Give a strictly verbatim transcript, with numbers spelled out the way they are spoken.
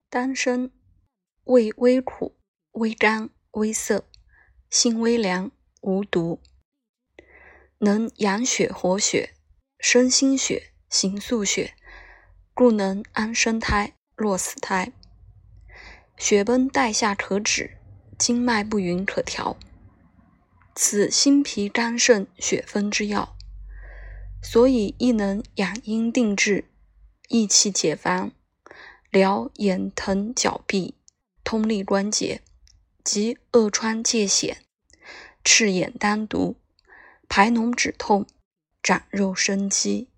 丹参，味微苦，微甘，微涩，性微凉，无毒，能养血活血，生心血，行素血，故能安生胎，落死胎。血崩带下可止，经脉不匀可调。此心脾肝肾血分之药，所以亦能养阴定志，益气解烦，疗眼疼脚痹，通利关节，及恶疮疥癣，赤眼丹毒，排脓止痛，长肉生肌。